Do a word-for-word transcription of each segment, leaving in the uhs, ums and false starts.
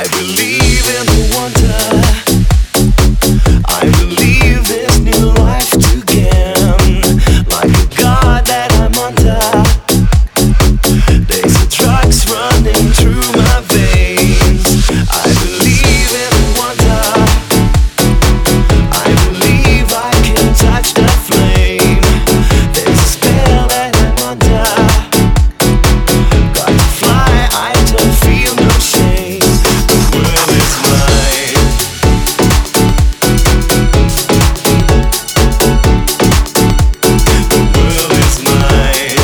I believe in the wonder. I believe there's new life to gain. Like a god that I'm under. There's a drugs running through my veins. I believe in the wonder. I believe I can touch the flame. There's a spell that I'm under. Got to fly, I don't feel no shame. The world is mine. The world is mine.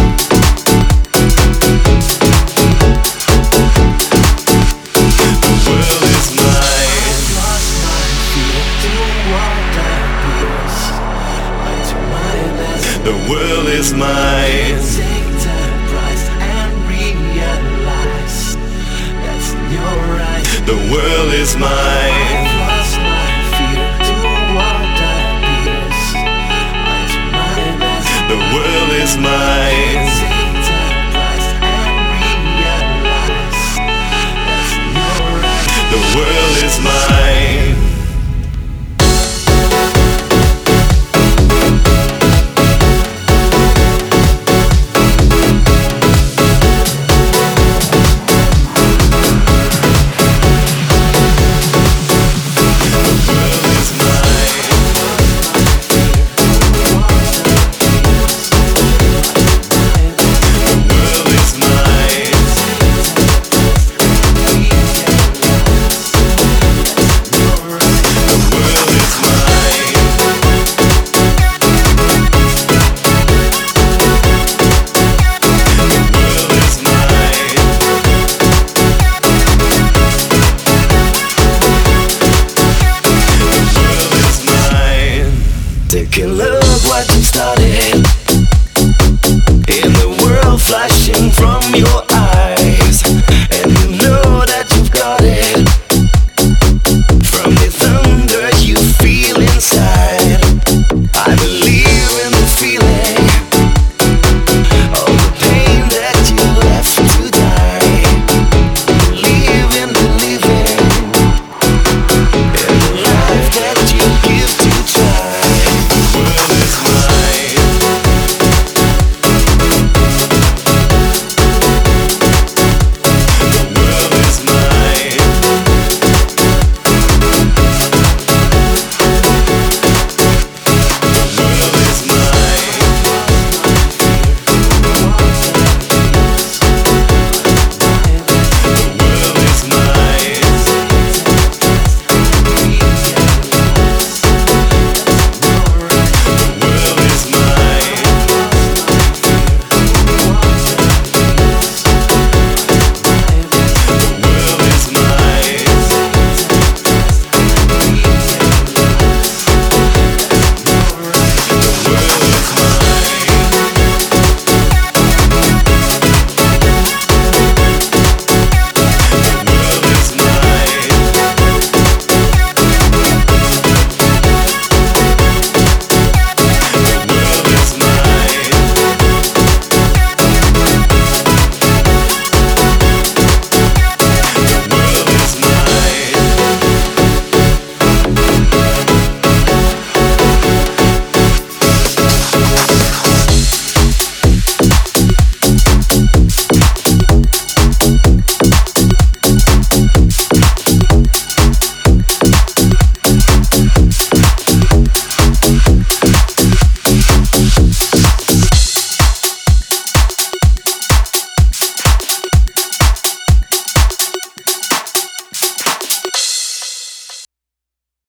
The world is mine. I've lost my fear to what appears. I do my best. The world is mine. Take the price and realize that's in your eyes. The world is mine. I've lost my fear to what appears. I do my best. The world is mine. Take the price and realize that's in your eyes. The world is mine.